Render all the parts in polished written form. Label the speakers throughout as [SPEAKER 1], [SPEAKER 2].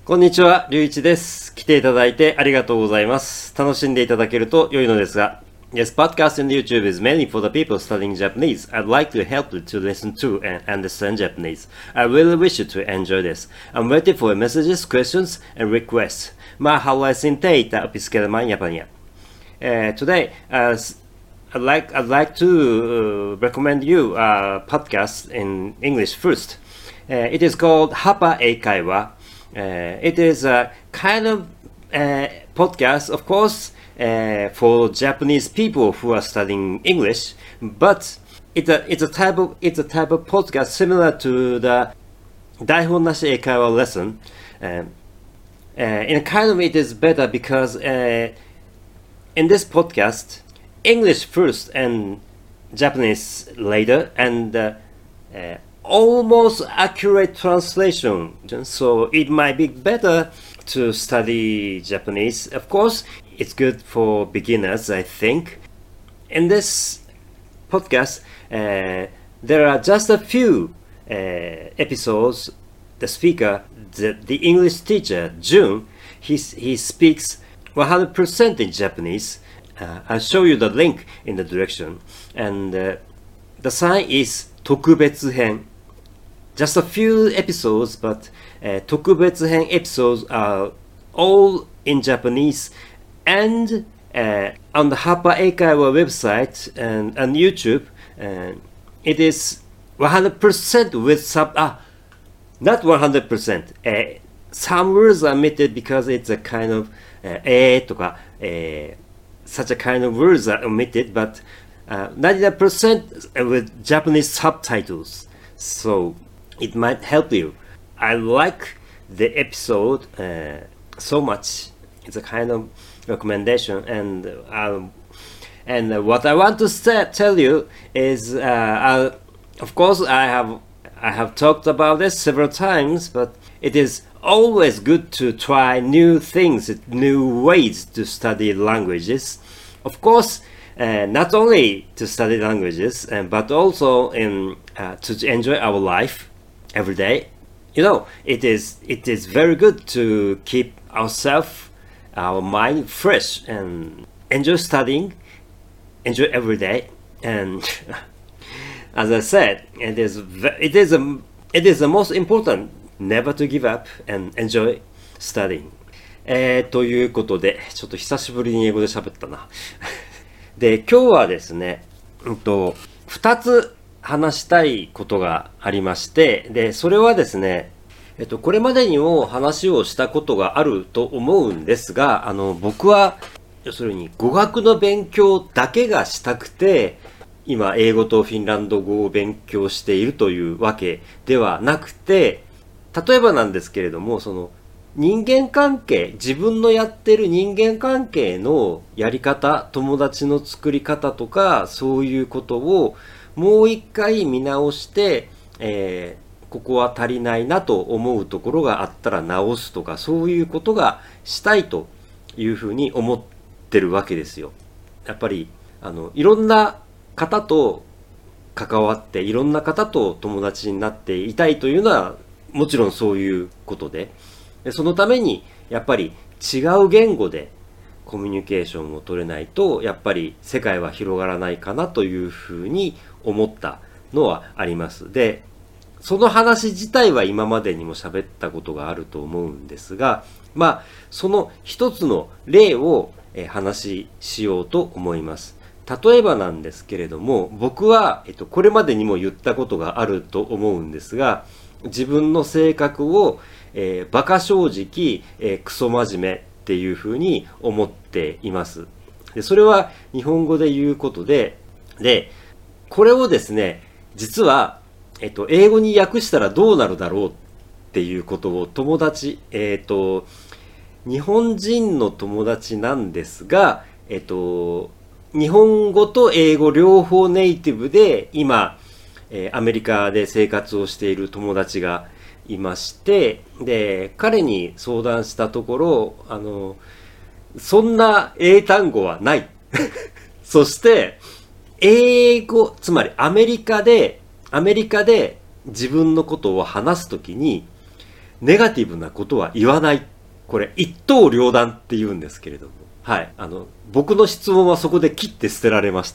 [SPEAKER 1] こんにちは、りゅういちです。来ていただいてありがとうございます。楽しんでいただけると良いのですが。This podcast on YouTube is mainly for the people studying Japanese. I'd like to help you to listen to and understand Japanese. I really wish you to enjoy this. I'm waiting for your messages, questions, and requests. Mahalo sinteita piskelman Japania. Today, I'd like to recommend you a podcast in English first. It is called Hapa Eikaiwa. It is a kind of podcast, of course, for Japanese people who are studying English, but it's a type of podcast similar to the Daihon Nashi Eikaiwa lesson. In a kind of it is better because in this podcast, English first and Japanese later, and almost accurate translation. So it might be better to study Japanese. Of course, it's good for beginners, I think. In this podcast, there are just a few episodes. The speaker, the English teacher, Jun, he speaks 100% in Japanese. I'll show you the link in the direction. And the sign is 特別編. Just a few episodes, but 特別編 episodes are all in Japanese. And on the Hapa Eikaiwa website and on YouTube, it is 100% with not 100%. Some words are omitted because it's a kind of とか such a kind of words are omitted, but 99% with Japanese subtitles. So it might help you. I like the episode so much. It's a kind of recommendation, and what I want to tell you is, of course, I have talked about this several times, but it is always good to try new things, new ways to study languages. Of course, not only to study languages, but also to enjoy our life every day. You know, it is very good to keep our mind fresh and enjoy studying, enjoy every day. And as I said, it is the most important never to give up and enjoy studying. ということで、ちょっと久しぶりに英語で喋ったな。で、今日はですね、2つ話したいことがありまして、で、それはですね、これまでにも話をしたことがあると思うんですが、僕は、要するに語学の勉強だけがしたくて、今、英語とフィンランド語を勉強しているというわけではなくて、例えばなんですけれども、その、人間関係、自分のやってる人間関係のやり方、友達の作り方とか、そういうことをもう一回見直して、ここは足りないなと思うところがあったら直すとか、そういうことがしたいというふうに思ってるわけですよ。やっぱり、いろんな方と関わって、いろんな方と友達になっていたいというのは、もちろんそういうことで、そのためにやっぱり違う言語でコミュニケーションを取れないとやっぱり世界は広がらないかなというふうに思ったのはあります。で、その話自体は今までにも喋ったことがあると思うんですが、まあその一つの例を話しようと思います。例えばなんですけれども、僕はこれまでにも言ったことがあると思うんですが、自分の性格をバカ正直、クソ真面目っていうふうに思っています。で、それは日本語で言うことで、これをですね、実は、英語に訳したらどうなるだろうっていうことを友達、日本人の友達なんですが、日本語と英語両方ネイティブで今、アメリカで生活をしている友達がいまして、で、彼に相談したところ、そんな英単語はない。そして、英語、つまりアメリカで自分のことを話すときに、 ネガティブなことは言わない。これ一刀両断って言うんですけれども。はい。僕の質問はそこで切って捨てられまして。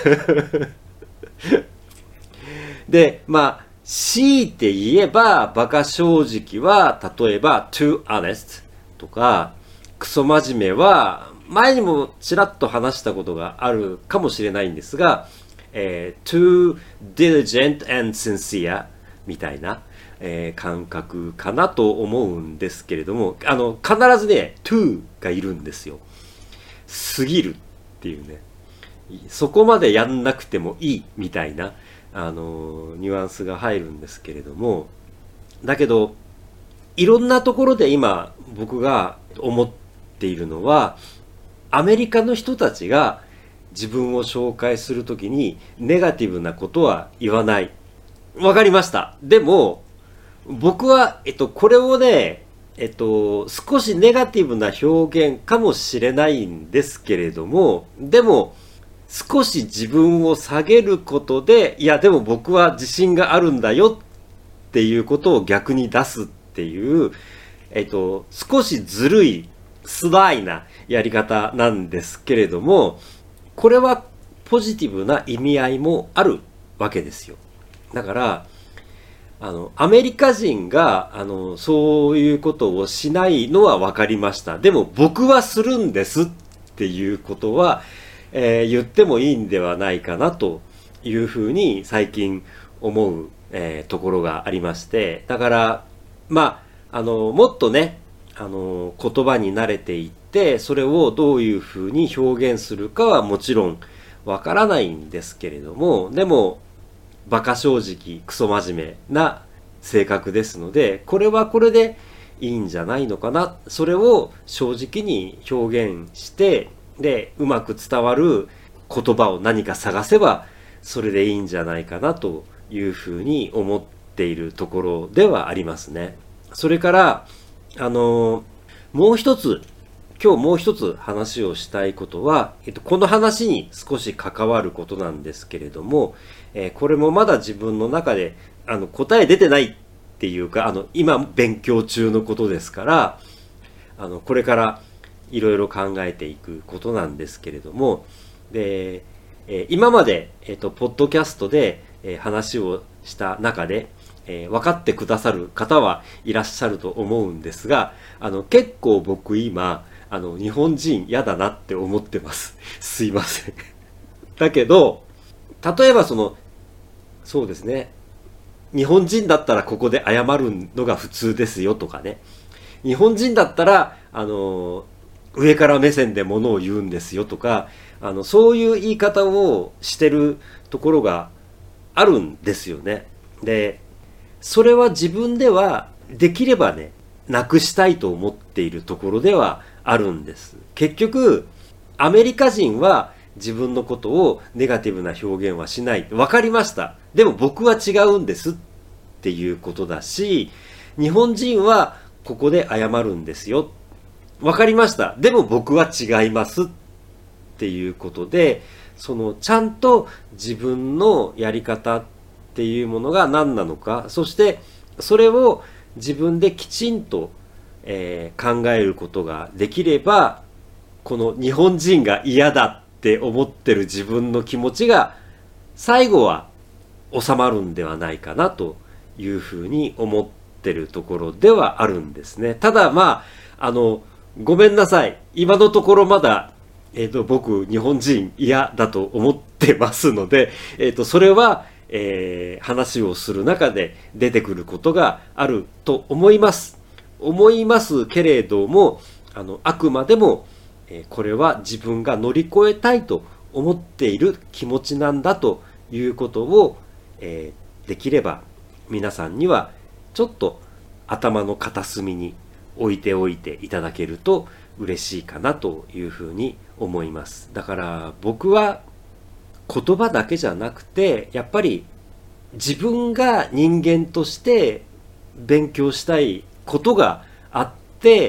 [SPEAKER 1] で、強いて言えば、馬鹿正直は、例えば、too honest とか、クソ真面目は、前にもちらっと話したことがあるかもしれないんですが、too diligent and sincere みたいな、感覚かなと思うんですけれども、必ずね、too がいるんですよ。過ぎるっていうね。そこまでやんなくてもいいみたいな、ニュアンスが入るんですけれども、だけど、いろんなところで今僕が思っているのは、アメリカの人たちが自分を紹介するときにネガティブなことは言わない。わかりました。でも、僕は、これをね、少しネガティブな表現かもしれないんですけれども、でも、少し自分を下げることで、いや、でも僕は自信があるんだよっていうことを逆に出すっていう、少しずるい、スライなやり方なんですけれども、これはポジティブな意味合いもあるわけですよ。だから、アメリカ人が、そういうことをしないのは分かりました。でも僕はするんですっていうことは、言ってもいいんではないかなというふうに最近思う、ところがありまして、だから、もっとね、言葉に慣れていって、それをどういうふうに表現するかはもちろんわからないんですけれども、でも、馬鹿正直、クソ真面目な性格ですので、これはこれでいいんじゃないのかな。それを正直に表現して、で、うまく伝わる言葉を何か探せば、それでいいんじゃないかなというふうに思っているところではありますね。それから、もう一つ、今日もう一つ話をしたいことは、この話に少し関わることなんですけれども、これもまだ自分の中で答え出てないっていうか、今勉強中のことですから、これからいろいろ考えていくことなんですけれども、で、今まで、ポッドキャストで、話をした中で、分かってくださる方はいらっしゃると思うんですが、結構僕今、日本人嫌だなって思ってます。すいません。だけど、例えばそうですね。日本人だったらここで謝るのが普通ですよとかね。日本人だったら、上から目線で物を言うんですよとか、そういう言い方をしてるところがあるんですよね。で、それは自分ではできればね、なくしたいと思っているところではあるんです。結局、アメリカ人は自分のことをネガティブな表現はしない。わかりました。でも僕は違うんですっていうことだし、日本人はここで謝るんですよ。わかりました。でも僕は違いますっていうことで、ちゃんと自分のやり方っていうものが何なのか、そしてそれを自分できちんと、考えることができれば、この日本人が嫌だって思ってる自分の気持ちが最後は収まるんではないかなというふうに思ってるところではあるんですね。ただごめんなさい。今のところまだ、僕日本人嫌だと思ってますので、それは、話をする中で出てくることがあると思います。思いますけれども、あくまでも、これは自分が乗り越えたいと思っている気持ちなんだということを、できれば皆さんにはちょっと頭の片隅に置いておいていただけると嬉しいかなというふうに思います。だから僕は言葉だけじゃなくて、やっぱり自分が人間として勉強したいことがあって、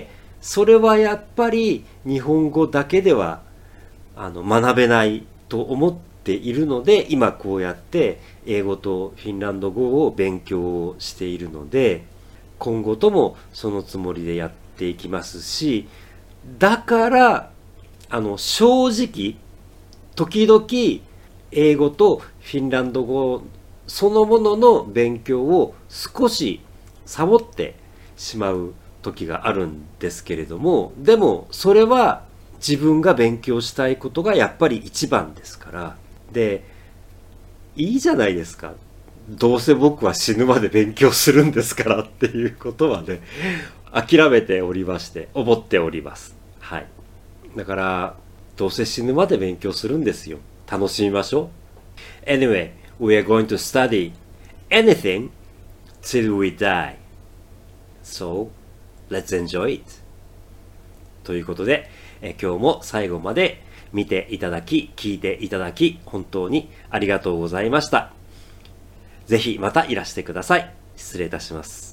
[SPEAKER 1] それはやっぱり日本語だけでは学べないと思っているので、今こうやって英語とフィンランド語を勉強しているので、 今後ともそのつもりでやっていきますし、だから正直時々英語とフィンランド語そのものの勉強を少しサボってしまう時があるんですけれども、でもそれは自分が勉強したいことがやっぱり一番ですから。で、いいじゃないですか。どうせ僕は死ぬまで勉強するんですからっていうことはね、諦めておりまして、思っております。はい。だから、どうせ死ぬまで勉強するんですよ。楽しみましょう。Anyway, we are going to study anything till we die. So, let's enjoy it. ということで、今日も最後まで見ていただき、聞いていただき、本当にありがとうございました。ぜひまたいらしてください。失礼いたします。